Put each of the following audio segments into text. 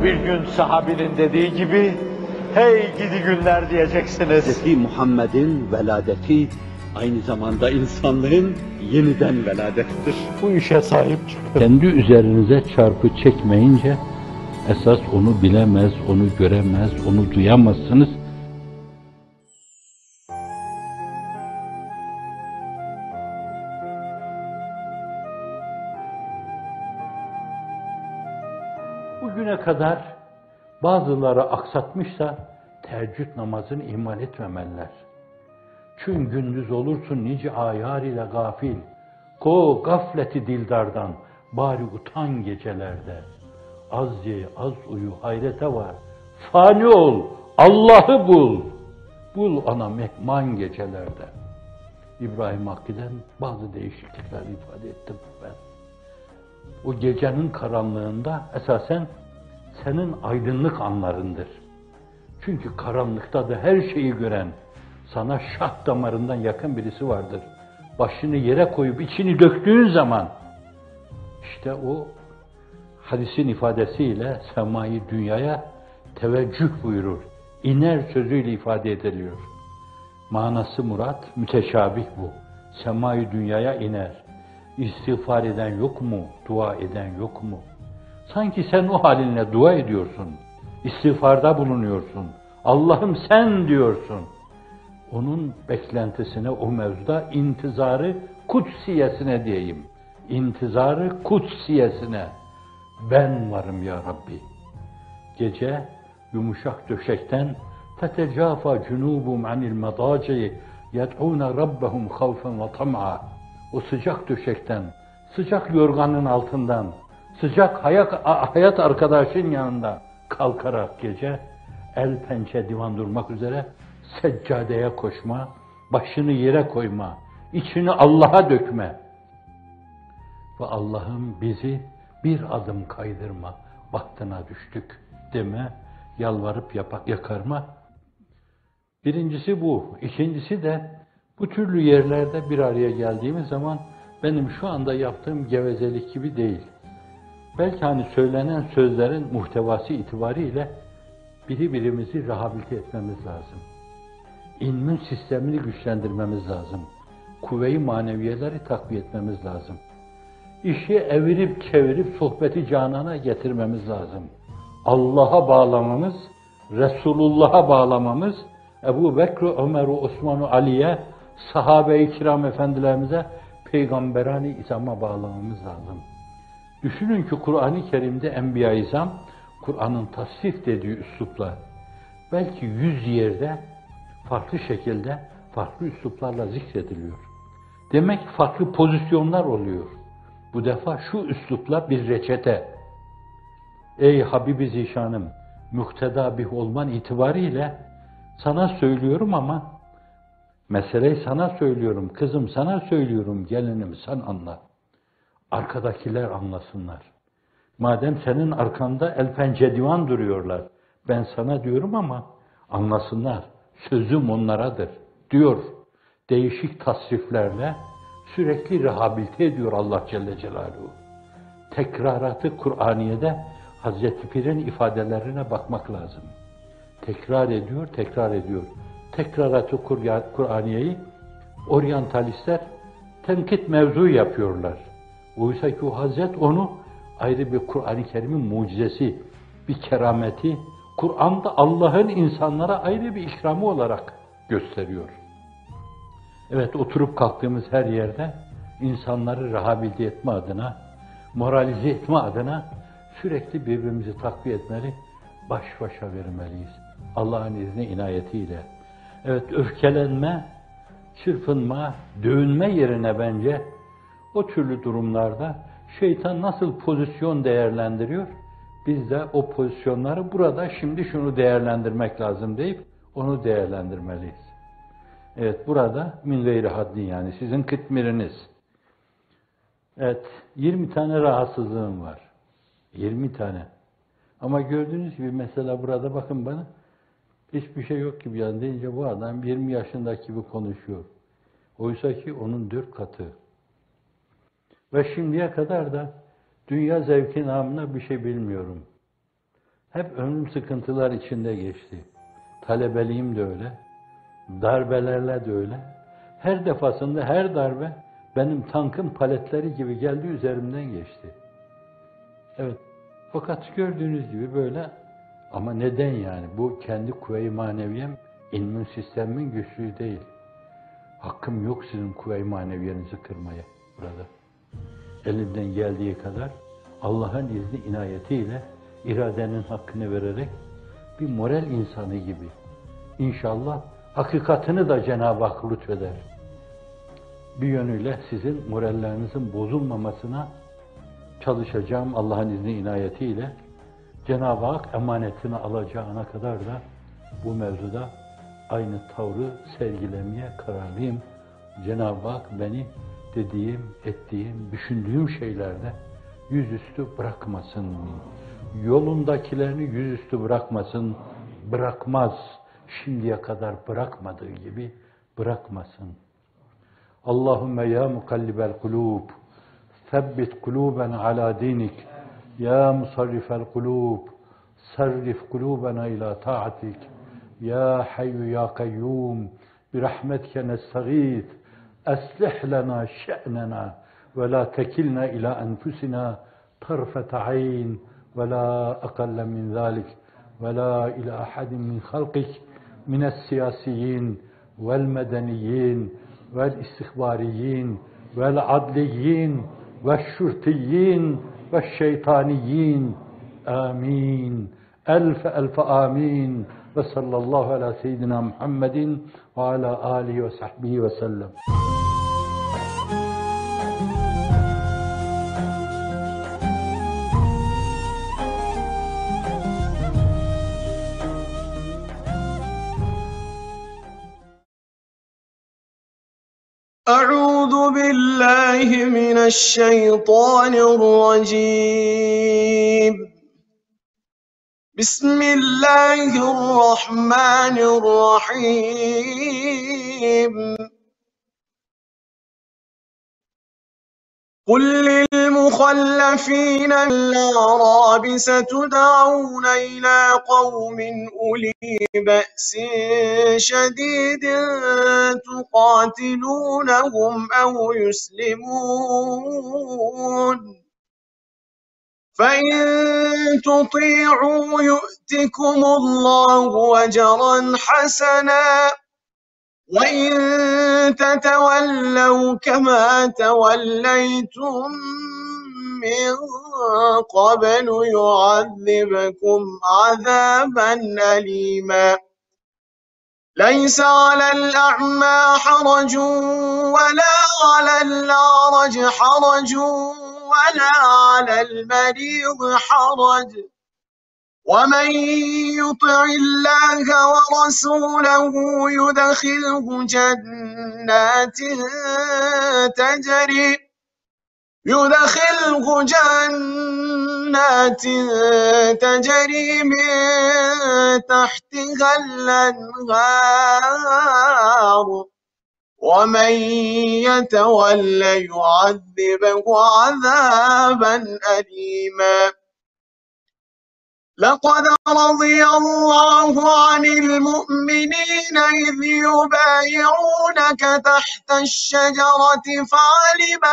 Ama bir gün sahabinin dediği gibi, hey gidi günler diyeceksiniz. Hz. Muhammed'in veladeti aynı zamanda insanlığın yeniden veladettir. Bu işe sahip çıkın. Kendi üzerinize çarpı çekmeyince, esas onu bilemez, onu göremez, onu duyamazsınız. Bugüne kadar bazıları aksatmışsa, teheccüd namazını ihmal etmemeliler. Çünkü gündüz olursun nice ayar ile gafil, ko gafleti dildardan, bari utan gecelerde. Az ye, az uyu, hayrete var. Fani ol, Allah'ı bul. Bul ana mehman gecelerde. İbrahim Hakkı'dan bazı değişiklikler ifade ettim ben. O gecenin karanlığında esasen senin aydınlık anlarındır. Çünkü karanlıkta da her şeyi gören, sana şah damarından yakın birisi vardır. Başını yere koyup içini döktüğün zaman, işte o hadisin ifadesiyle semayı dünyaya teveccüh buyurur. İner sözüyle ifade ediliyor. Manası murat, müteşabih bu. Semayı dünyaya iner. İstiğfar eden yok mu? Dua eden yok mu? Sanki sen o halinle dua ediyorsun. İstiğfarda bulunuyorsun. Allah'ım sen diyorsun. Onun beklentisine, o mevzuda intizarı kutsiyesine diyeyim. İntizarı kutsiyesine. Ben varım ya Rabbi. Gece yumuşak döşekten فَتَجَافَى جُنُوبُمْ عَنِ الْمَضَاجِعِ يَدْعُونَ رَبَّهُمْ خَوْفًا وَطَمْعًا. O sıcak döşekten, sıcak yorganın altından, sıcak hayat arkadaşın yanında kalkarak gece el pençe divan durmak üzere seccadeye koşma, başını yere koyma, içini Allah'a dökme. Ve Allah'ım bizi bir adım kaydırma, bahtına düştük deme, yalvarıp yakarma. Birincisi bu. İkincisi de bu türlü yerlerde bir araya geldiğimiz zaman benim şu anda yaptığım gevezelik gibi değil. Belki hani söylenen sözlerin muhtevası itibariyle birbirimizi rehabilite etmemiz lazım. İmmün sistemini güçlendirmemiz lazım. Kuvve-i maneviyeleri takviye etmemiz lazım. İşi evirip çevirip sohbeti canana getirmemiz lazım. Allah'a bağlamamız, Resulullah'a bağlamamız, Ebu Bekr, Ömer'u, Osman'u, Ali'ye, sahabe-i kiram efendilerimize, peygamberani izama bağlamamız lazım. Düşünün ki Kur'an-ı Kerim'de Enbiya-i İzam, Kur'an'ın tasnif dediği üslupla, belki 100 yerde farklı şekilde, farklı üsluplarla zikrediliyor. Demek ki farklı pozisyonlar oluyor. Bu defa şu üslupla bir reçete. Ey Habibi Zişanım, mukteda bih olman itibariyle sana söylüyorum ama meseleyi sana söylüyorum, kızım sana söylüyorum, gelinim sen anla. Arkadakiler anlasınlar. Madem senin arkanda el pençe divan duruyorlar, ben sana diyorum ama anlasınlar. Sözüm onlaradır diyor. Değişik tasriflerle sürekli rehabilite ediyor Allah Celle Celaluhu. Tekraratı Kur'aniye'de Hazreti Pir'in ifadelerine bakmak lazım. Tekrar ediyor, tekrar ediyor. Tekraratı Kur'aniye'yi oryantalistler tenkit mevzu yapıyorlar. Oysa ki o Hazret onu ayrı bir Kur'an-ı Kerim'in mucizesi, bir kerameti, Kur'an'da Allah'ın insanlara ayrı bir ikramı olarak gösteriyor. Evet, oturup kalktığımız her yerde insanları rehabilite etme adına, moralize etme adına sürekli birbirimizi takviye etmeli, baş başa vermeliyiz. Allah'ın izni inayetiyle. Evet, öfkelenme, çırpınma, dövünme yerine bence o türlü durumlarda şeytan nasıl pozisyon değerlendiriyor? Biz de o pozisyonları burada şimdi şunu değerlendirmek lazım deyip onu değerlendirmeliyiz. Evet, burada min gayri haddin, yani sizin kıtmiriniz. Evet, 20 tane rahatsızlığım var. 20 tane. Ama gördüğünüz gibi mesela burada bakın bana, hiçbir şey yok gibi yani deyince bu adam 20 yaşındaki gibi konuşuyor. Oysa ki onun 4 katı. Ve şimdiye kadar da dünya zevki namına bir şey bilmiyorum. Hep ömrüm sıkıntılar içinde geçti. Talebeliğim de öyle, darbelerle de öyle. Her defasında her darbe benim tankın paletleri gibi geldi, üzerimden geçti. Evet, fakat gördüğünüz gibi böyle. Ama neden yani? Bu kendi kuvve-i maneviyem, immün sistemin güçlüğü değil. Hakkım yok sizin kuvve-i maneviyenizi kırmaya burada. Elimden geldiği kadar Allah'ın izni inayetiyle iradenin hakkını vererek bir moral insanı gibi İnşallah hakikatini da Cenab-ı Hak lütfeder. Bir yönüyle sizin morallerinizin bozulmamasına çalışacağım Allah'ın izni inayetiyle. Cenab-ı Hak emanetini alacağına kadar da bu mevzuda aynı tavrı sergilemeye kararlıyım. Cenab-ı Hak beni dediğim, ettiğim, düşündüğüm şeylerde yüzüstü bırakmasın. Yolundakilerini yüzüstü bırakmasın, bırakmaz. Şimdiye kadar bırakmadığı gibi bırakmasın. Allahümme ya mukallibel kulub, sebbit kuluben ala dinik. Ya musarrifel kulub, sarrif kulubena ila ta'atik. Ya hayyu ya kayyum, birahmetke nestağith. Eslih lena şe'nena ve la tekilna ila enfusina tarfete ayn ve la akalle min zalik ve la ila ahadin min halkik من السياسيين والمدنيين والاستخباريين والعدليين والشرطيين والشيطانيين آمين ألف ألف آمين وصلى الله على سيدنا محمد وعلى آله وصحبه وسلم. أعوذ بالله من الشيطان الرجيم. بسم الله الرحمن الرحيم. قل للمخلفين الأعراب ستدعون إلى قوم أولي بأس شديد تقاتلونهم أو يسلمون فإن تطيعوا يؤتكم الله أجرا حسنا وإن تتولوا كما توليتم من قبل يعذبكم عذابا أليما. ليس على الأعمى حرج ولا على الأعرج حرج ولا على المريض حرج ومن يطع الله ورسوله يدخله جنات تجري من تحتها الأنهار ومن يتول يعذبه عذابا أليما. لقد رضي الله عن المؤمنين إذ يبايعونك تحت الشجرة فعلم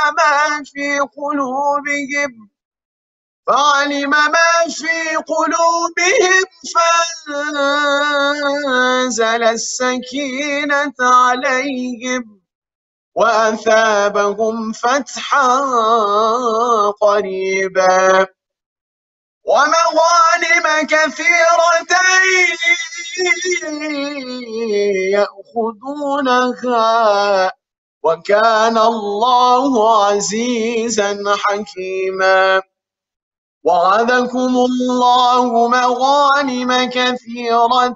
ما في قلوبهم فأنزل السكينة عليهم وأثابهم فتحا قريبا ومغانم كثيرة يأخذونها وكان الله عزيزا حكيما. وعدكم الله مغانم كثيرة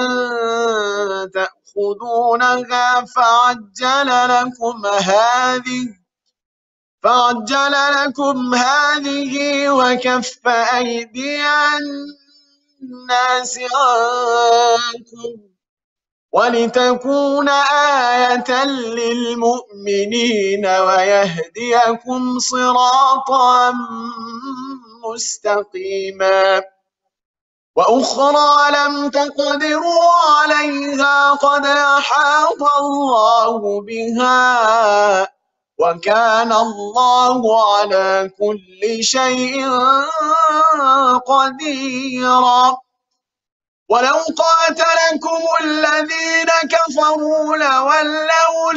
تأخذونها فعجل لكم هذه وكف أيدي الناس عنكم ولتكون آية للمؤمنين ويهديكم صراطا مستقيما. وأخرى لم تقدروا عليها قد أحاط الله بها وكان الله على كل شيء قديرا ولو قاتلكم الذين كفروا لولوا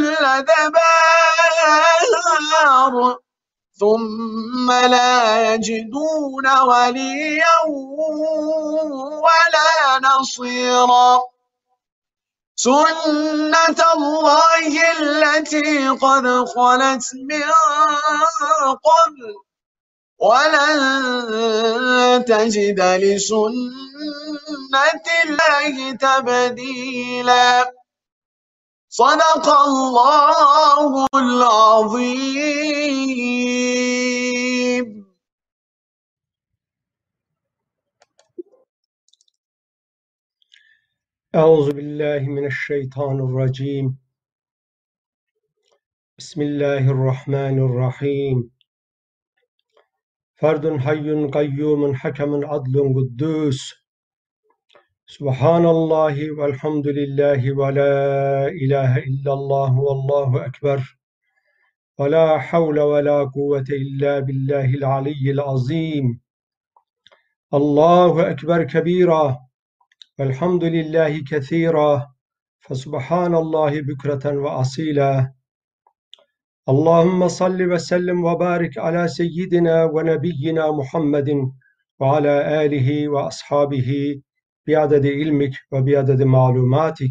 الأدبار ثم لا يجدون وليا ولا نصيرا سنة الله التي قد خلت من قبل ولن تجد لسنة الله تبديلا صدق الله العظيم. أعوذ بالله من الشيطان الرجيم. بسم الله الرحمن الرحيم. فرد حي قيوم حكم عدل قدوس سبحان الله والحمد لله ولا إله إلا الله والله أكبر ولا حول ولا قوة إلا بالله العلي العظيم. الله أكبر كبيرا والحمد لله كثيرا فسبحان الله بكرة وأصيلا. اللهم صل وسلم وبارك على سيدنا ونبينا محمد وعلى آله وأصحابه بعدد علمك وبعدد معلوماتك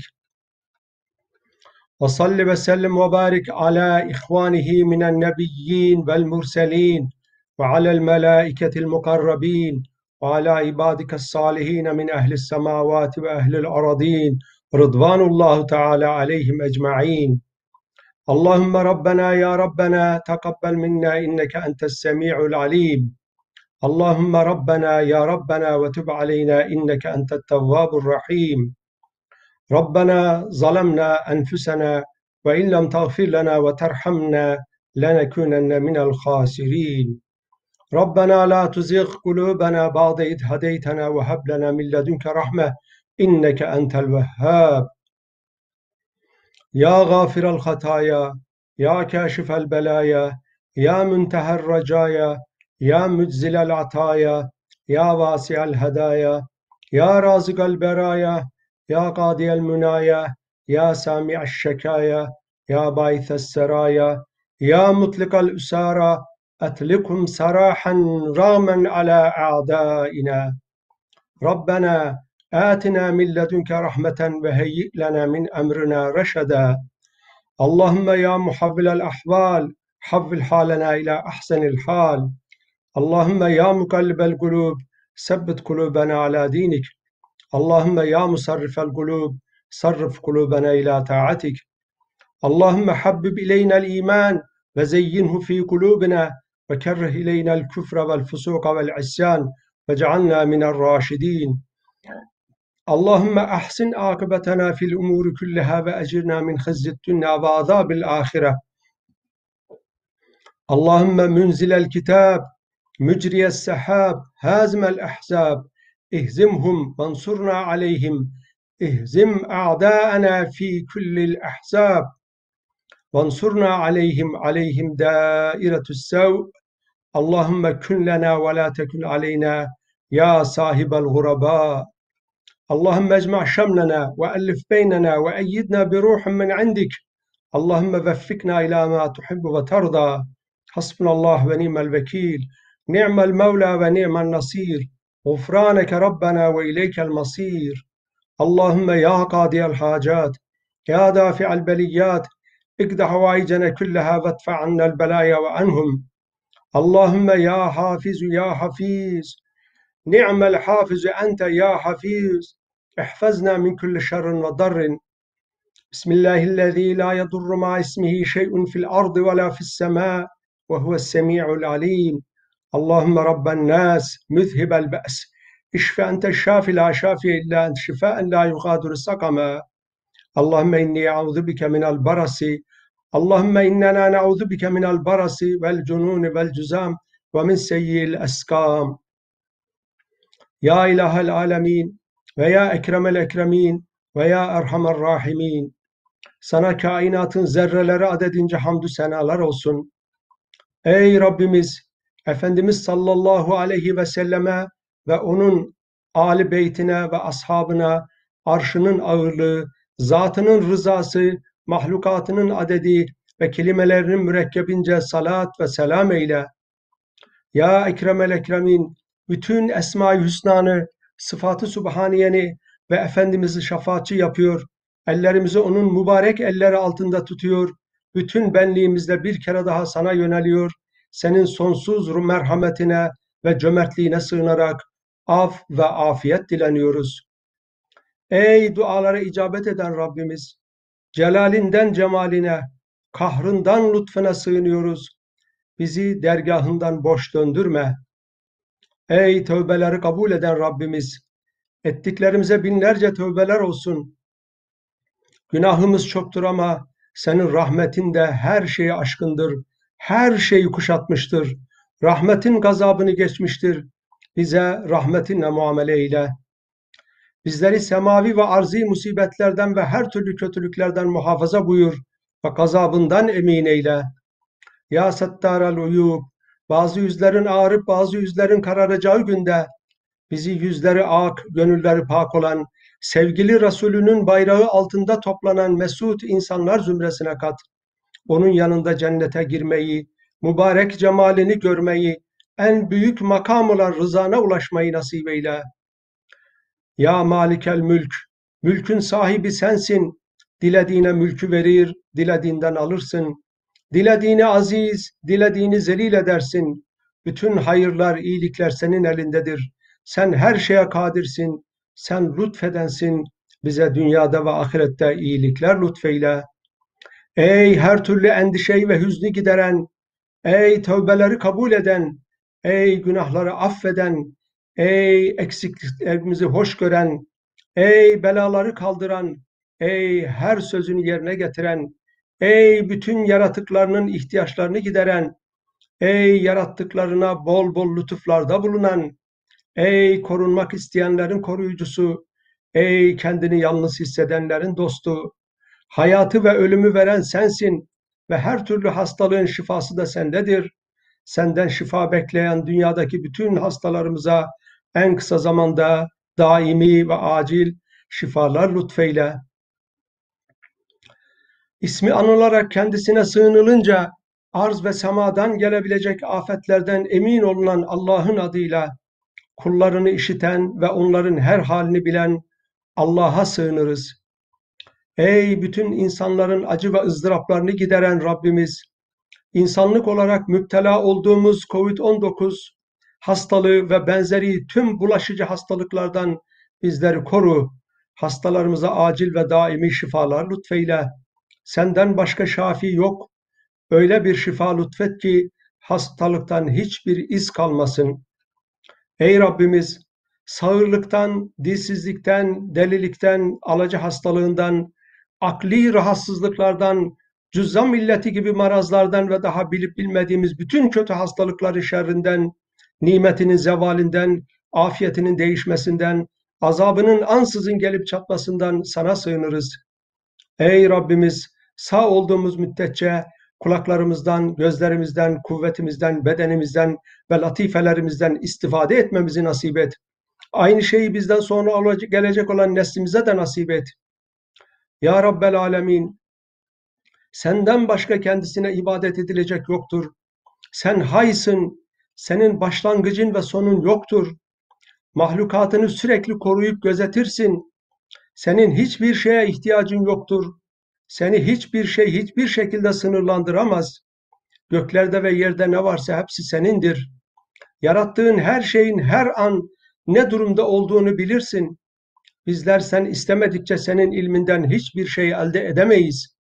وصل وسلم وبارك على إخوانه من النبيين والمرسلين وعلى الملائكة المقربين وعلى عبادك الصالحين من أهل السماوات وأهل الأرضين رضوان الله تعالى عليهم أجمعين. اللهم ربنا يا ربنا تقبل منا إنك أنت السميع العليم. اللهم ربنا يا ربنا وتب علينا إنك أنت التواب الرحيم. ربنا ظلمنا أنفسنا وإن لم تغفر لنا وترحمنا لنكونن من الخاسرين. ربنا لا تزغ قلوبنا بعد إذ هديتنا وهب لنا من لدنك رحمة إنك أنت الوهاب. يا غافر الخطايا يا كاشف البلايا يا منتهى الرجايا يا مجزل العطايا يا واسع الهدايا يا رازق البرايا يا قاضي المنايا يا سامع الشكايا يا باعث السرايا يا مطلق الأسارى أطلقهم سراحا راما على أعدائنا. ربنا آتنا من لدنك رحمة وهيئ لنا من أمرنا رشدا. اللهم يا محول الأحوال حول حالنا إلى أحسن الحال. اللهم يا مقلب القلوب ثبت قلوبنا على دينك. اللهم يا مصرف القلوب صرف قلوبنا إلى طاعتك. اللهم حبب إلينا الإيمان وزينه في قلوبنا وكره إلينا الكفر والفسوق والعصيان واجعلنا من الراشدين. اللهم أحسن عاقبتنا في الأمور كلها وأجرنا من خزي الدنيا وعذاب الآخرة. اللهم منزل الكتاب مجري السحاب هازم الأحزاب اهزمهم وانصرنا عليهم اهزم أعداءنا في كل الأحزاب وانصرنا عليهم دائرة السوء. اللهم كن لنا ولا تكن علينا يا صاحب الغرباء. اللهم اجمع شملنا وألف بيننا وأيدنا بروح من عندك. اللهم وفقنا إلى ما تحب وترضى. حسبنا الله ونعم الوكيل نعم المولى ونعم النصير. غفرانك ربنا وإليك المصير. اللهم يا قاضي الحاجات يا دافع البليات اقض حوائجنا كلها وادفع عنا البلايا وعنهم. اللهم يا حافظ يا حفيظ نعم الحافظ أنت يا حفيظ احفظنا من كل شر وضر. بسم الله الذي لا يضر مع اسمه شيء في الأرض ولا في السماء وهو السميع العليم. اللهم رب الناس مذهب البأس اشف أنت الشافي لا شافي إلا أنت شفاء لا يغادر سقما. اللهم إني أعوذ بك من البرص. اللهم إننا نعوذ بك من البرص والجنون والجزام ومن سيء الأسقام. Ya İlahel Alemin ve Ya Ekremel Ekremin ve Ya Erhamer Rahimin. Sana kainatın zerreleri adedince hamdü senalar olsun. Ey Rabbimiz, Efendimiz sallallahu aleyhi ve selleme ve onun âli beytine ve ashabına arşının ağırlığı, zatının rızası, mahlukatının adedi ve kelimelerinin mürekkebince salat ve selam eyle. Ya Ekremel Ekremin, bütün Esma-i Hüsna'nı, sıfat-ı Sübhaniyeni ve Efendimiz'i şefaatçi yapıyor, ellerimizi onun mübarek elleri altında tutuyor, bütün benliğimizle bir kere daha sana yöneliyor, senin sonsuz merhametine ve cömertliğine sığınarak af ve afiyet dileniyoruz. Ey dualara icabet eden Rabbimiz, celalinden cemaline, kahrından lütfuna sığınıyoruz. Bizi dergahından boş döndürme. Ey tövbeleri kabul eden Rabbimiz, ettiklerimize binlerce tövbeler olsun. Günahımız çoktur ama senin rahmetin de her şeyi aşkındır, her şeyi kuşatmıştır. Rahmetin gazabını geçmiştir. Bize rahmetinle muamele eyle. Bizleri semavi ve arzi musibetlerden ve her türlü kötülüklerden muhafaza buyur ve gazabından emin eyle. Ya Settar-ül Uyub, bazı yüzlerin ağrıp bazı yüzlerin kararacağı günde bizi yüzleri ak, gönülleri pak olan, sevgili Resulünün bayrağı altında toplanan mesut insanlar zümresine kat. Onun yanında cennete girmeyi, mübarek cemalini görmeyi, en büyük makam olan rızana ulaşmayı nasip eyle. Ya Malikel Mülk, mülkün sahibi sensin. Dilediğine mülkü verir, dilediğinden alırsın. Dilediğini aziz, dilediğini zelil edersin. Bütün hayırlar, iyilikler senin elindedir. Sen her şeye kadirsin. Sen lütfedensin. Bize dünyada ve ahirette iyilikler lütfeyle. Ey her türlü endişeyi ve hüznü gideren, ey tövbeleri kabul eden, ey günahları affeden, ey eksikliklerimizi hoş gören, ey belaları kaldıran, ey her sözünü yerine getiren, ey bütün yaratıklarının ihtiyaçlarını gideren, ey yarattıklarına bol bol lütuflarda bulunan, ey korunmak isteyenlerin koruyucusu, ey kendini yalnız hissedenlerin dostu, hayatı ve ölümü veren sensin ve her türlü hastalığın şifası da sendedir. Senden şifa bekleyen dünyadaki bütün hastalarımıza en kısa zamanda daimi ve acil şifalar lütfeyle. İsmi anılarak kendisine sığınılınca arz ve semadan gelebilecek afetlerden emin olunan Allah'ın adıyla kullarını işiten ve onların her halini bilen Allah'a sığınırız. Ey bütün insanların acı ve ızdıraplarını gideren Rabbimiz, insanlık olarak müptela olduğumuz COVID-19 hastalığı ve benzeri tüm bulaşıcı hastalıklardan bizleri koru. Hastalarımıza acil ve daimi şifalar lütfeyle. Senden başka şafi yok. Öyle bir şifa lütfet ki hastalıktan hiçbir iz kalmasın. Ey Rabbimiz, sağırlıktan, dilsizlikten, delilikten, alaca hastalığından, akli rahatsızlıklardan, cüzzam illeti gibi marazlardan ve daha bilip bilmediğimiz bütün kötü hastalıkların şerrinden, nimetinin zevalinden, afiyetinin değişmesinden, azabının ansızın gelip çatmasından sana sığınırız. Ey Rabbimiz, sağ olduğumuz müddetçe kulaklarımızdan, gözlerimizden, kuvvetimizden, bedenimizden ve latifelerimizden istifade etmemizi nasip et. Aynı şeyi bizden sonra gelecek olan neslimize de nasip et. Ya Rabbel Alemin, senden başka kendisine ibadet edilecek yoktur. Sen haysın, senin başlangıcın ve sonun yoktur. Mahlukatını sürekli koruyup gözetirsin. Senin hiçbir şeye ihtiyacın yoktur. Seni hiçbir şey hiçbir şekilde sınırlandıramaz. Göklerde ve yerde ne varsa hepsi senindir. Yarattığın her şeyin her an ne durumda olduğunu bilirsin. Bizler sen istemedikçe senin ilminden hiçbir şey elde edemeyiz.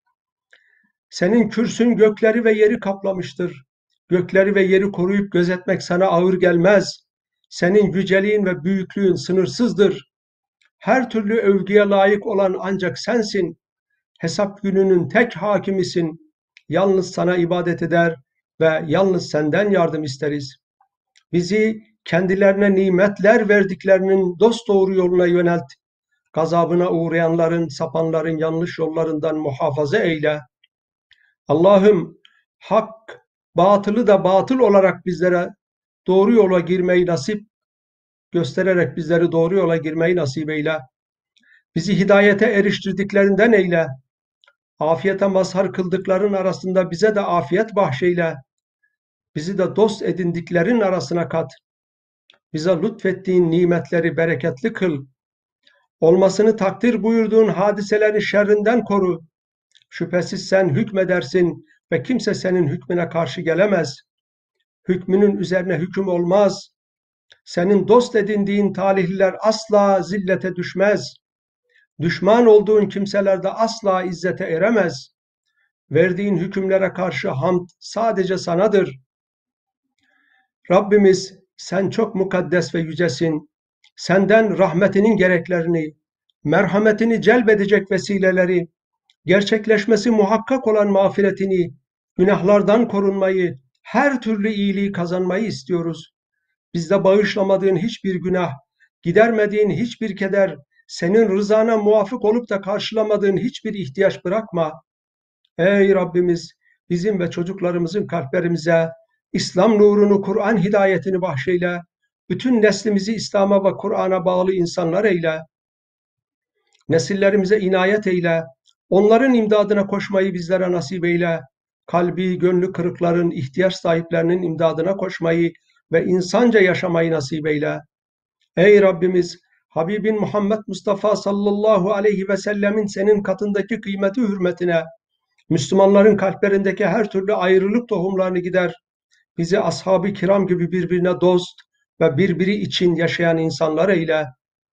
Senin kürsün gökleri ve yeri kaplamıştır. Gökleri ve yeri koruyup gözetmek sana ağır gelmez. Senin yüceliğin ve büyüklüğün sınırsızdır. Her türlü övgüye layık olan ancak sensin. Hesap gününün tek hakimisin. Yalnız sana ibadet eder ve yalnız senden yardım isteriz. Bizi kendilerine nimetler verdiklerinin dosdoğru yoluna yönelt. Gazabına uğrayanların, sapanların yanlış yollarından muhafaza eyle. Allah'ım hak, batılı da batıl olarak bizlere doğru yola girmeyi göstererek bizleri doğru yola girmeyi nasip eyle. Bizi hidayete eriştirdiklerinden eyle. Afiyete mazhar kıldıkların arasında bize de afiyet bahşeyle. Bizi de dost edindiklerin arasına kat. Bize lütfettiğin nimetleri bereketli kıl. Olmasını takdir buyurduğun hadiselerin şerrinden koru. Şüphesiz sen hükmedersin ve kimse senin hükmüne karşı gelemez. Hükmünün üzerine hüküm olmaz. Senin dost edindiğin talihliler asla zillete düşmez. Düşman olduğun kimseler de asla izzete eremez. Verdiğin hükümlere karşı hamd sadece sanadır. Rabbimiz sen çok mukaddes ve yücesin. Senden rahmetinin gereklerini, merhametini celbedecek vesileleri, gerçekleşmesi muhakkak olan mağfiretini, günahlardan korunmayı, her türlü iyiliği kazanmayı istiyoruz. Bizde bağışlamadığın hiçbir günah, gidermediğin hiçbir keder, senin rızana muvafık olup da karşılamadığın hiçbir ihtiyaç bırakma. Ey Rabbimiz, bizim ve çocuklarımızın kalplerimize İslam nurunu, Kur'an hidayetini bahşeyle, bütün neslimizi İslam'a ve Kur'an'a bağlı insanlar eyle. Nesillerimize inayet eyle, onların imdadına koşmayı bizlere nasip eyle. Kalbi, gönlü kırıkların, ihtiyaç sahiplerinin imdadına koşmayı ve insanca yaşamayı nasip eyle. Ey Rabbimiz, Habibin Muhammed Mustafa sallallahu aleyhi ve sellemin senin katındaki kıymeti hürmetine, Müslümanların kalplerindeki her türlü ayrılık tohumlarını gider. Bizi ashab-ı kiram gibi birbirine dost ve birbiri için yaşayan insanlar eyle.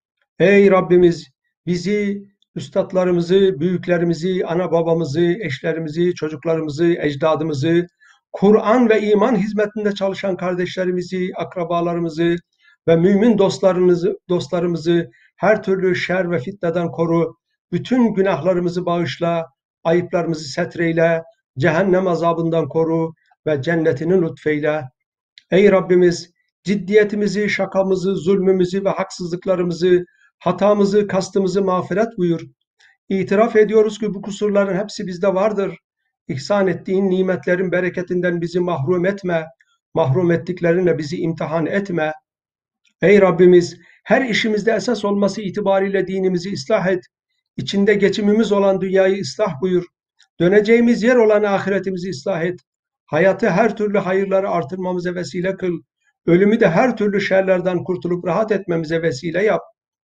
Ey Rabbimiz, bizi, üstadlarımızı, büyüklerimizi, ana babamızı, eşlerimizi, çocuklarımızı, ecdadımızı, Kur'an ve iman hizmetinde çalışan kardeşlerimizi, akrabalarımızı ve mümin dostlarımızı her türlü şer ve fitneden koru. Bütün günahlarımızı bağışla, ayıplarımızı setreyle, cehennem azabından koru ve cennetini lütfeyle. Ey Rabbimiz, ciddiyetimizi, şakamızı, zulmümüzü ve haksızlıklarımızı, hatamızı, kastımızı mağfiret buyur. İtiraf ediyoruz ki bu kusurların hepsi bizde vardır. İhsan ettiğin nimetlerin bereketinden bizi mahrum etme. Mahrum ettiklerinle bizi imtihan etme. Ey Rabbimiz, her işimizde esas olması itibariyle dinimizi ıslah et. İçinde geçimimiz olan dünyayı ıslah buyur. Döneceğimiz yer olan ahiretimizi ıslah et. Hayatı her türlü hayırları artırmamıza vesile kıl. Ölümü de her türlü şerlerden kurtulup rahat etmemize vesile yap.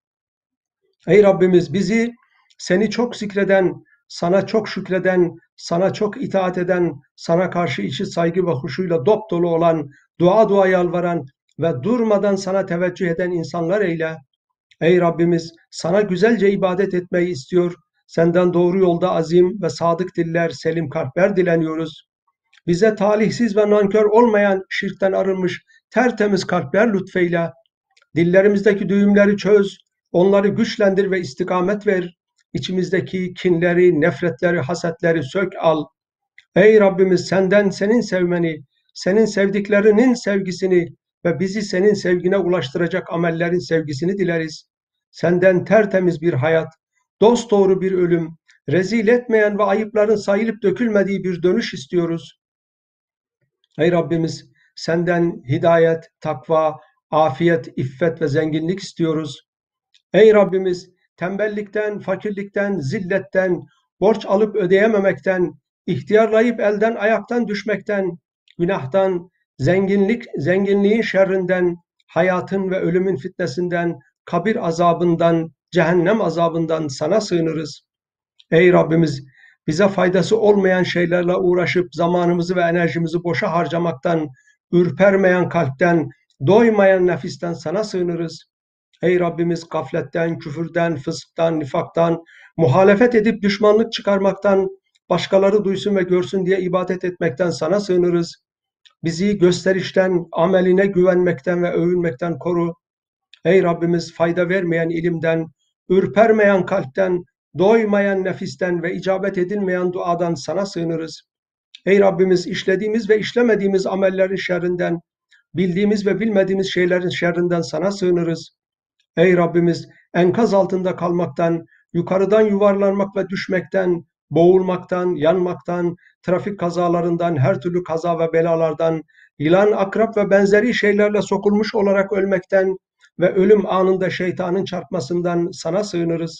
Ey Rabbimiz, bizi seni çok zikreden, sana çok şükreden, sana çok itaat eden, sana karşı içi saygı ve huşuyla dopdolu olan, dua yalvaran ve durmadan sana teveccüh eden insanlar eyle. Ey Rabbimiz, sana güzelce ibadet etmeyi istiyor, senden doğru yolda azim ve sadık diller, selim kalpler dileniyoruz. Bize talihsiz ve nankör olmayan, şirkten arınmış, tertemiz kalpler lütfeyle. Dillerimizdeki düğümleri çöz, onları güçlendir ve istikamet ver. İçimizdeki kinleri, nefretleri, hasetleri sök al. Ey Rabbimiz, senden senin sevmeni, senin sevdiklerinin sevgisini ve bizi senin sevgine ulaştıracak amellerin sevgisini dileriz. Senden tertemiz bir hayat, dosdoğru bir ölüm, rezil etmeyen ve ayıpların sayılıp dökülmediği bir dönüş istiyoruz. Ey Rabbimiz, senden hidayet, takva, afiyet, iffet ve zenginlik istiyoruz. Ey Rabbimiz, tembellikten, fakirlikten, zilletten, borç alıp ödeyememekten, ihtiyarlayıp elden ayaktan düşmekten, günahtan, zenginliğin şerrinden, hayatın ve ölümün fitnesinden, kabir azabından, cehennem azabından sana sığınırız. Ey Rabbimiz, bize faydası olmayan şeylerle uğraşıp zamanımızı ve enerjimizi boşa harcamaktan, ürpermeyen kalpten, doymayan nefisten sana sığınırız. Ey Rabbimiz, gafletten, küfürden, fısktan, nifaktan, muhalefet edip düşmanlık çıkarmaktan, başkaları duysun ve görsün diye ibadet etmekten sana sığınırız. Bizi gösterişten, ameline güvenmekten ve övünmekten koru. Ey Rabbimiz, fayda vermeyen ilimden, ürpermeyen kalpten, doymayan nefisten ve icabet edilmeyen duadan sana sığınırız. Ey Rabbimiz, işlediğimiz ve işlemediğimiz amellerin şerrinden, bildiğimiz ve bilmediğimiz şeylerin şerrinden sana sığınırız. Ey Rabbimiz, enkaz altında kalmaktan, yukarıdan yuvarlanmak ve düşmekten, boğulmaktan, yanmaktan, trafik kazalarından, her türlü kaza ve belalardan, yılan, akrap ve benzeri şeylerle sokulmuş olarak ölmekten ve ölüm anında şeytanın çarpmasından sana sığınırız.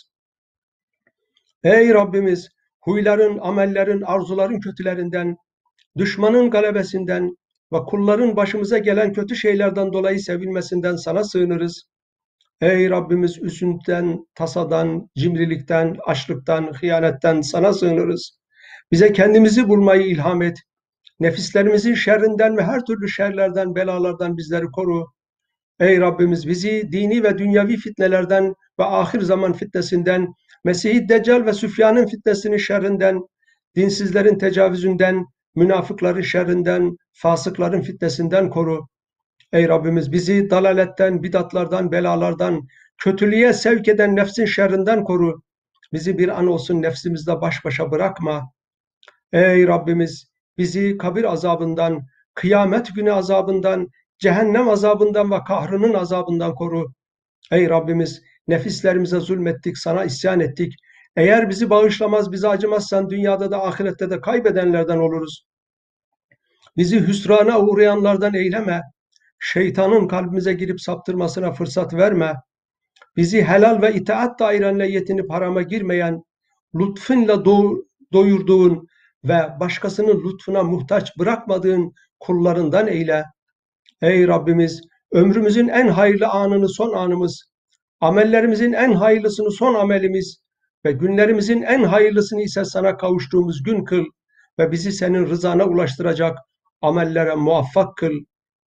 Ey Rabbimiz, huyların, amellerin, arzuların kötülerinden, düşmanın galebesinden ve kulların başımıza gelen kötü şeylerden dolayı sevilmesinden sana sığınırız. Ey Rabbimiz, üzüntüden, tasadan, cimrilikten, açlıktan, hıyanetten sana sığınırız. Bize kendimizi bulmayı ilham et. Nefislerimizin şerrinden ve her türlü şerlerden, belalardan bizleri koru. Ey Rabbimiz, bizi dini ve dünyevi fitnelerden ve ahir zaman fitnesinden, Mesih-i Deccal ve Süfyan'ın fitnesinin şerrinden, dinsizlerin tecavüzünden, münafıkların şerrinden, fasıkların fitnesinden koru. Ey Rabbimiz, bizi dalaletten, bidatlardan, belalardan, kötülüğe sevk eden nefsin şerrinden koru. Bizi bir an olsun nefsimizle baş başa bırakma. Ey Rabbimiz, bizi kabir azabından, kıyamet günü azabından, cehennem azabından ve kahrının azabından koru. Ey Rabbimiz, nefislerimize zulmettik, sana isyan ettik. Eğer bizi bağışlamaz, bize acımazsan dünyada da ahirette de kaybedenlerden oluruz. Bizi hüsrana uğrayanlardan eyleme. Şeytanın kalbimize girip saptırmasına fırsat verme. Bizi helal ve itaat dairenle yetinip harama girmeyen, lütfunla doyurduğun ve başkasının lütfuna muhtaç bırakmadığın kullarından eyle. Ey Rabbimiz, ömrümüzün en hayırlı anını son anımız, amellerimizin en hayırlısını son amelimiz ve günlerimizin en hayırlısını ise sana kavuştuğumuz gün kıl ve bizi senin rızana ulaştıracak amellere muvaffak kıl.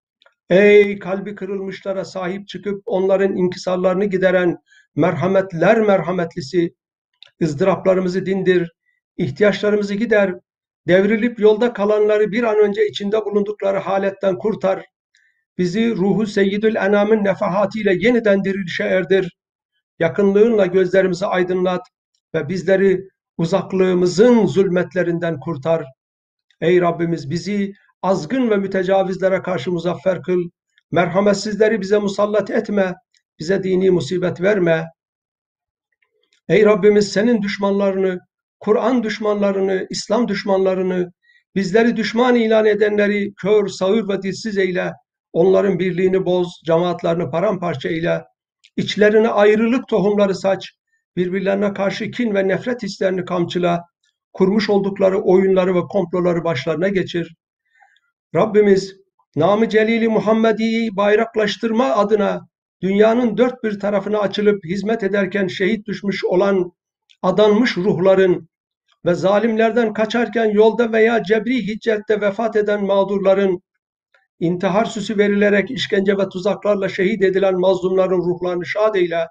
Ey kalbi kırılmışlara sahip çıkıp onların inkisarlarını gideren merhametler merhametlisi, ızdıraplarımızı dindir, ihtiyaçlarımızı gider, devrilip yolda kalanları bir an önce içinde bulundukları haletten kurtar, bizi ruhu seyyidül enamın nefahatiyle yeniden dirilişe erdir, yakınlığınla gözlerimizi aydınlat ve bizleri uzaklığımızın zulmetlerinden kurtar. Ey Rabbimiz, bizi azgın ve mütecavizlere karşı muzaffer kıl, merhametsizleri bize musallat etme, bize dini musibet verme. Ey Rabbimiz, senin düşmanlarını, Kur'an düşmanlarını, İslam düşmanlarını, bizleri düşman ilan edenleri kör, sağır ve dilsiz eyle, onların birliğini boz, cemaatlerini paramparça eyle, içlerine ayrılık tohumları saç, birbirlerine karşı kin ve nefret hislerini kamçıla, kurmuş oldukları oyunları ve komploları başlarına geçir. Rabbimiz, Nam-ı Celil-i Muhammedi'yi bayraklaştırma adına dünyanın dört bir tarafına açılıp hizmet ederken şehit düşmüş olan adanmış ruhların ve zalimlerden kaçarken yolda veya cebri hiccette vefat eden mağdurların, intihar süsü verilerek işkence ve tuzaklarla şehit edilen mazlumların ruhlarını şad eyle.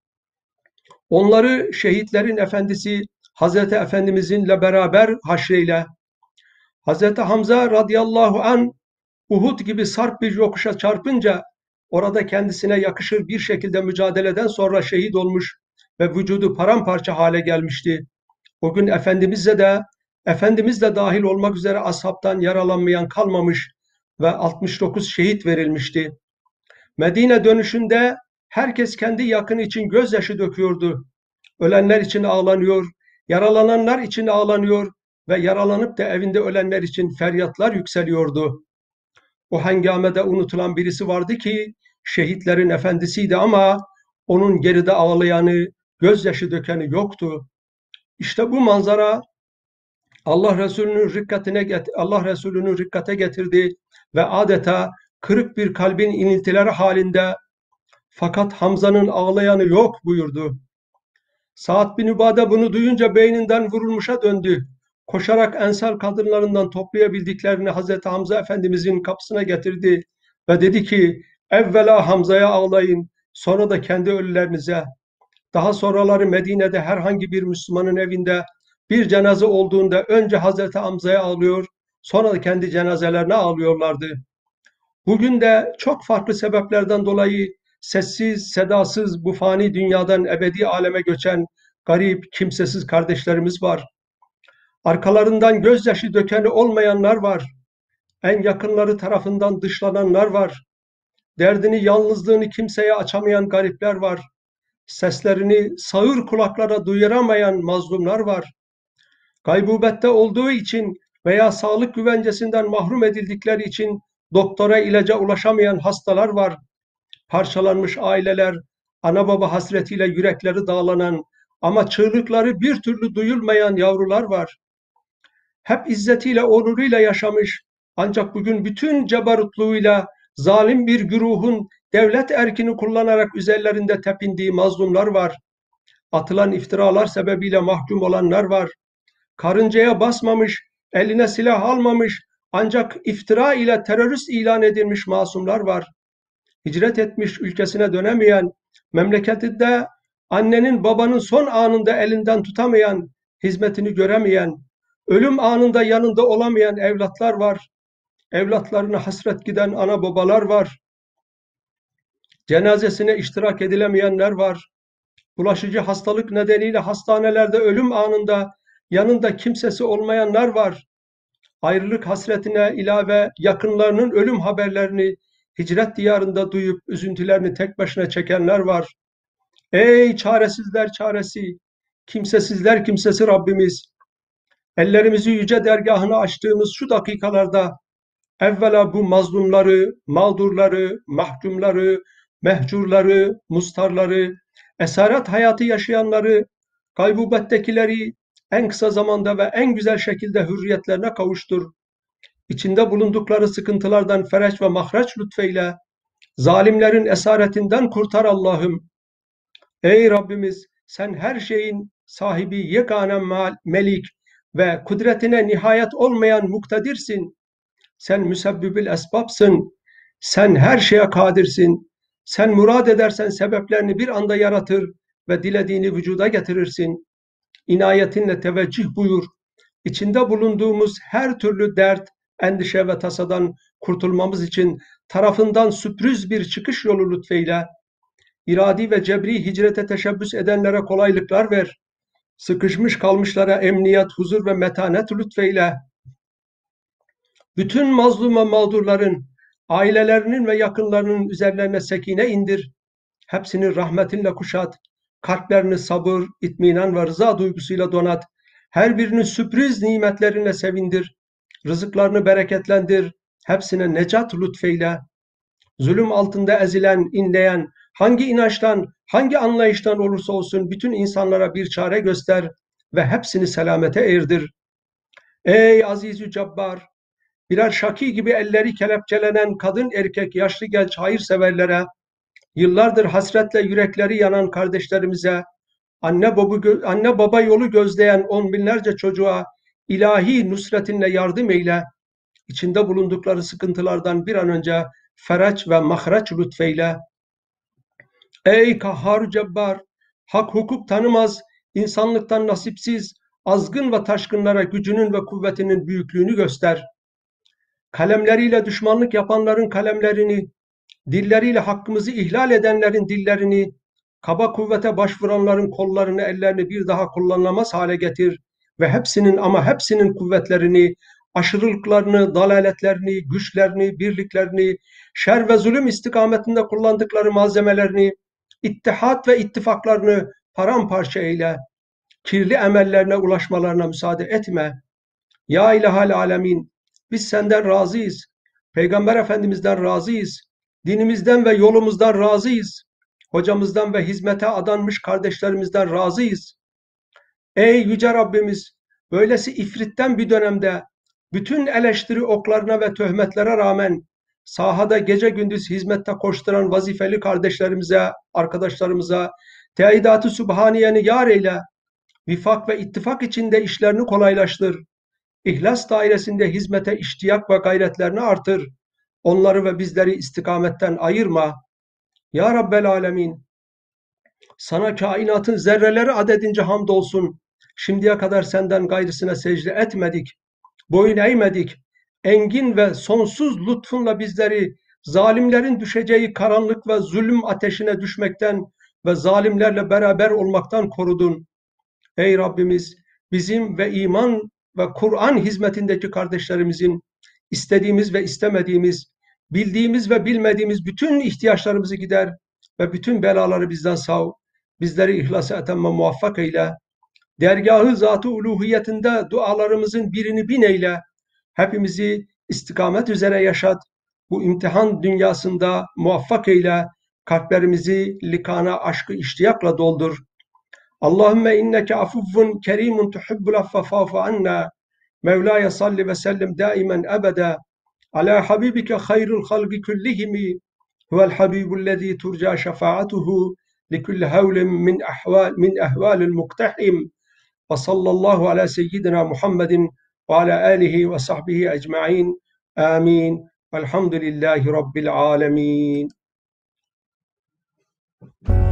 Onları şehitlerin efendisi Hazreti Efendimiz'inle beraber haşreyle. Hazreti Hamza radıyallahu an Uhud gibi sarp bir yokuşa çarpınca orada kendisine yakışır bir şekilde mücadeleden sonra şehit olmuş ve vücudu paramparça hale gelmişti. O gün Efendimiz de dahil olmak üzere ashabtan yaralanmayan kalmamış ve 69 şehit verilmişti. Medine dönüşünde herkes kendi yakını için gözyaşı döküyordu. Ölenler için ağlanıyor, yaralananlar için ağlanıyor ve yaralanıp da evinde ölenler için feryatlar yükseliyordu. O hengamede unutulan birisi vardı ki şehitlerin efendisiydi ama onun geride ağlayanı, gözyaşı dökeni yoktu. İşte bu manzara Allah Resulü'nü rikkate getirdi ve adeta kırık bir kalbin iniltileri halinde fakat Hamza'nın ağlayanı yok buyurdu. Sa'd bin Übade bunu duyunca beyninden vurulmuşa döndü. Koşarak Ensar kadınlarından toplayabildiklerini Hazreti Hamza Efendimizin kapısına getirdi ve dedi ki, evvela Hamza'ya ağlayın, sonra da kendi ölülerinize. Daha sonraları Medine'de herhangi bir Müslümanın evinde bir cenaze olduğunda önce Hazreti Hamza'ya ağlıyor, sonra da kendi cenazelerine ağlıyorlardı. Bugün de çok farklı sebeplerden dolayı sessiz, sedasız bu fani dünyadan ebedi aleme göçen garip, kimsesiz kardeşlerimiz var. Arkalarından gözyaşı dökeni olmayanlar var. en yakınları tarafından dışlananlar var. Derdini, yalnızlığını kimseye açamayan garipler var. Seslerini sağır kulaklara duyuramayan mazlumlar var. Gaybubette olduğu için veya sağlık güvencesinden mahrum edildikleri için doktora, ilaca ulaşamayan hastalar var. Parçalanmış aileler, ana baba hasretiyle yürekleri dağlanan ama çığlıkları bir türlü duyulmayan yavrular var. Hep izzetiyle, onuruyla yaşamış ancak bugün bütün cebarutluğuyla zalim bir güruhun devlet erkini kullanarak üzerlerinde tepindiği mazlumlar var. Atılan iftiralar sebebiyle mahkum olanlar var. Karıncaya basmamış, eline silah almamış ancak iftira ile terörist ilan edilmiş masumlar var. Hicret etmiş, ülkesine dönemeyen, memleketinde annenin babanın son anında elinden tutamayan, hizmetini göremeyen, ölüm anında yanında olamayan evlatlar var. Evlatlarına hasret giden ana babalar var. Cenazesine iştirak edilemeyenler var. Bulaşıcı hastalık nedeniyle hastanelerde ölüm anında yanında kimsesi olmayanlar var. Ayrılık hasretine ilave yakınlarının ölüm haberlerini hicret diyarında duyup üzüntülerini tek başına çekenler var. Ey çaresizler çaresi, kimsesizler kimsesi Rabbimiz! Ellerimizi yüce dergahına açtığımız şu dakikalarda evvela bu mazlumları, mağdurları, mahkumları, mehcurları, mustarları, esaret hayatı yaşayanları, gaybubettekileri en kısa zamanda ve en güzel şekilde hürriyetlerine kavuştur. İçinde bulundukları sıkıntılardan fereç ve mahreç lütfeyle, zalimlerin esaretinden kurtar Allah'ım. Ey Rabbimiz, sen her şeyin sahibi yegane melik ve kudretine nihayet olmayan muktedirsin. Sen müsebbibül esbabsın. Sen her şeye kadirsin. Sen murad edersen sebeplerini bir anda yaratır ve dilediğini vücuda getirirsin. İnayetinle teveccüh buyur. İçinde bulunduğumuz her türlü dert, endişe ve tasadan kurtulmamız için tarafından sürpriz bir çıkış yolu lütfeyle. İradi ve cebri hicrete teşebbüs edenlere kolaylıklar ver. Sıkışmış kalmışlara emniyet, huzur ve metanet lütfeyle. Bütün mazlum mağdurların, ailelerinin ve yakınlarının üzerlerine sekine indir. Hepsini rahmetinle kuşat. Kalplerini sabır, itminan ve rıza duygusuyla donat. Her birini sürpriz nimetlerine sevindir. Rızıklarını bereketlendir. Hepsine necat lütfeyle. Zulüm altında ezilen, inleyen, hangi inançtan, hangi anlayıştan olursa olsun bütün insanlara bir çare göster ve hepsini selamete erdir. Ey Aziz-ü Cabbar! Birer şaki gibi elleri kelepçelenen kadın erkek yaşlı genç hayırseverlere, yıllardır hasretle yürekleri yanan kardeşlerimize, anne baba yolu gözleyen on binlerce çocuğa ilahi nusretinle yardım eyle, içinde bulundukları sıkıntılardan bir an önce fereç ve mahreç lütfeyle. Ey Kahhar Cebbar! Hak hukuk tanımaz, insanlıktan nasipsiz, azgın ve taşkınlara gücünün ve kuvvetinin büyüklüğünü göster. Kalemleriyle düşmanlık yapanların kalemlerini, dilleriyle hakkımızı ihlal edenlerin dillerini, kaba kuvvete başvuranların kollarını, ellerini bir daha kullanılamaz hale getir ve hepsinin ama hepsinin kuvvetlerini, aşırılıklarını, dalaletlerini, güçlerini, birliklerini, şer ve zulüm istikametinde kullandıkları malzemelerini, ittihat ve ittifaklarını paramparça eyle. Kirli emellerine ulaşmalarına müsaade etme. Ya İlahal Alemin, biz senden razıyız. Peygamber Efendimiz'den razıyız. Dinimizden ve yolumuzdan razıyız. Hocamızdan ve hizmete adanmış kardeşlerimizden razıyız. Ey Yüce Rabbimiz, böylesi ifritten bir dönemde bütün eleştiri oklarına ve töhmetlere rağmen sahada gece gündüz hizmette koşturan vazifeli kardeşlerimize, arkadaşlarımıza teidat-ı sübhaniyeni yar eyle. Vifak ve ittifak içinde işlerini kolaylaştır. İhlas dairesinde hizmete iştiyak ve gayretlerini artır. Onları ve bizleri istikametten ayırma. Ya Rabbel Alemin, sana kainatın zerreleri adedince hamdolsun. Şimdiye kadar senden gayrısına secde etmedik, boyun eğmedik. Engin ve sonsuz lütfunla bizleri zalimlerin düşeceği karanlık ve zulüm ateşine düşmekten ve zalimlerle beraber olmaktan korudun. Ey Rabbimiz, bizim ve iman ve Kur'an hizmetindeki kardeşlerimizin istediğimiz ve istemediğimiz, bildiğimiz ve bilmediğimiz bütün ihtiyaçlarımızı gider ve bütün belaları bizden sav, bizleri ihlas-ı etemme muvaffak eyle. Dergahı zat-ı uluhiyetinde dualarımızın birini bin eyle. Hepimizi istikamet üzere yaşat. Bu imtihan dünyasında muvaffak eyle. Kalplerimizi likana, aşkı, iştiyakla doldur. Allahümme inneke afuffun kerimun tuhibbul affe fa'fu anna. Mevlaya salli ve sellim daimen ebede. Ala habibike hayrul halgi kullihimi. Huvel habibullezî turca şefaatuhu. Likulli havlin min ehvalil muktahim. Ve sallallahu ala seyyidina Muhammedin ve ala alihi ve sahbihi ecma'in. Amin. Velhamdülillahi Rabbil alemin.